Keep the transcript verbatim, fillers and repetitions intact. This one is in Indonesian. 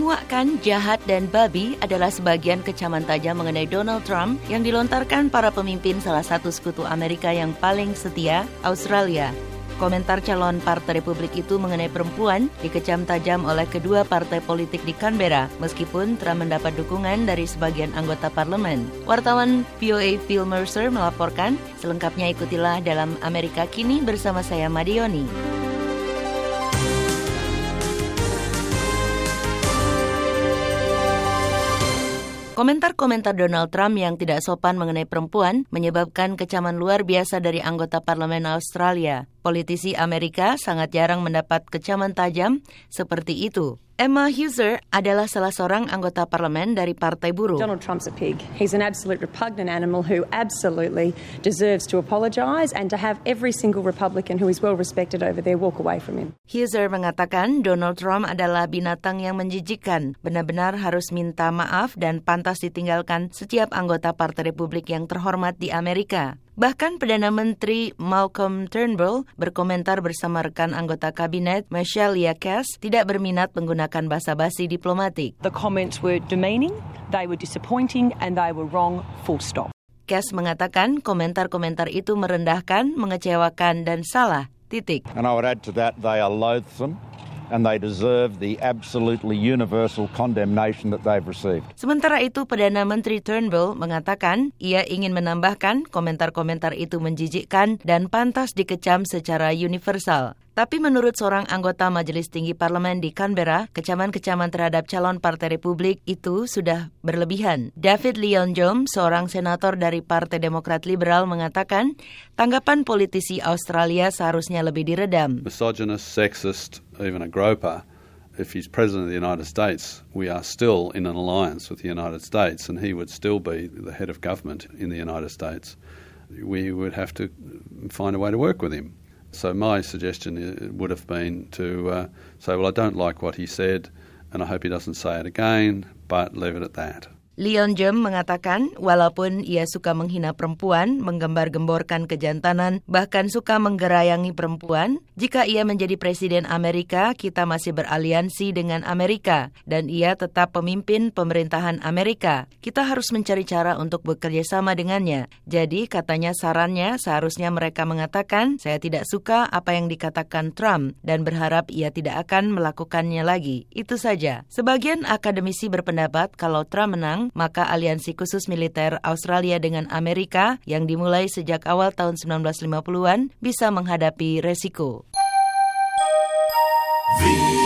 Menguakkan, jahat, dan babi adalah sebagian kecaman tajam mengenai Donald Trump yang dilontarkan para pemimpin salah satu sekutu Amerika yang paling setia, Australia. Komentar calon Partai Republik itu mengenai perempuan dikecam tajam oleh kedua partai politik di Canberra, meskipun Trump mendapat dukungan dari sebagian anggota parlemen. Wartawan V O A Phil Mercer melaporkan, selengkapnya ikutilah dalam Amerika Kini bersama saya Madioni. Komentar-komentar Donald Trump yang tidak sopan mengenai perempuan menyebabkan kecaman luar biasa dari anggota parlemen Australia. Politisi Amerika sangat jarang mendapat kecaman tajam seperti itu. Emma Husser adalah salah seorang anggota parlemen dari Partai Buruh. Donald Trump's a pig. He's an absolute repugnant animal who absolutely deserves to apologise and to have every single Republican who is well respected over there walk away from him. Husser mengatakan Donald Trump adalah binatang yang menjijikkan, benar-benar harus minta maaf dan pantas ditinggalkan setiap anggota Partai Republik yang terhormat di Amerika. Bahkan Perdana Menteri Malcolm Turnbull berkomentar bersama rekan anggota kabinet Michelle Yakas tidak berminat menggunakan basa-basi diplomatik. The comments were demeaning, they were disappointing and they were wrong, full stop. Yakas mengatakan komentar-komentar itu merendahkan, mengecewakan dan salah. Titik. And I would add to that they are loathsome. And they deserve the absolutely universal condemnation that they've received. Sementara itu, Perdana Menteri Turnbull mengatakan ia ingin menambahkan komentar-komentar itu menjijikkan dan pantas dikecam secara universal. Tapi menurut seorang anggota Majelis Tinggi Parlemen di Canberra, kecaman-kecaman terhadap calon Partai Republik itu sudah berlebihan. David Leon Jones, seorang senator dari Partai Demokrat Liberal, mengatakan tanggapan politisi Australia seharusnya lebih diredam. Misogynist, sexist, even a groper. If he's president of the United States, we are still in an alliance with the United States and he would still be the head of government in the United States. We would have to find a way to work with him. So my suggestion would have been to uh, say, well, I don't like what he said and I hope he doesn't say it again, but leave it at that. Leon Jem mengatakan walaupun ia suka menghina perempuan, menggembar-gemborkan kejantanan, bahkan suka menggerayangi perempuan, jika ia menjadi presiden Amerika, kita masih beraliansi dengan Amerika dan ia tetap pemimpin pemerintahan Amerika. Kita harus mencari cara untuk bekerja sama dengannya. Jadi katanya sarannya seharusnya mereka mengatakan, saya tidak suka apa yang dikatakan Trump dan berharap ia tidak akan melakukannya lagi. Itu saja. Sebagian akademisi berpendapat kalau Trump menang, maka aliansi khusus militer Australia dengan Amerika yang dimulai sejak awal tahun sembilan belas lima puluhan bisa menghadapi resiko.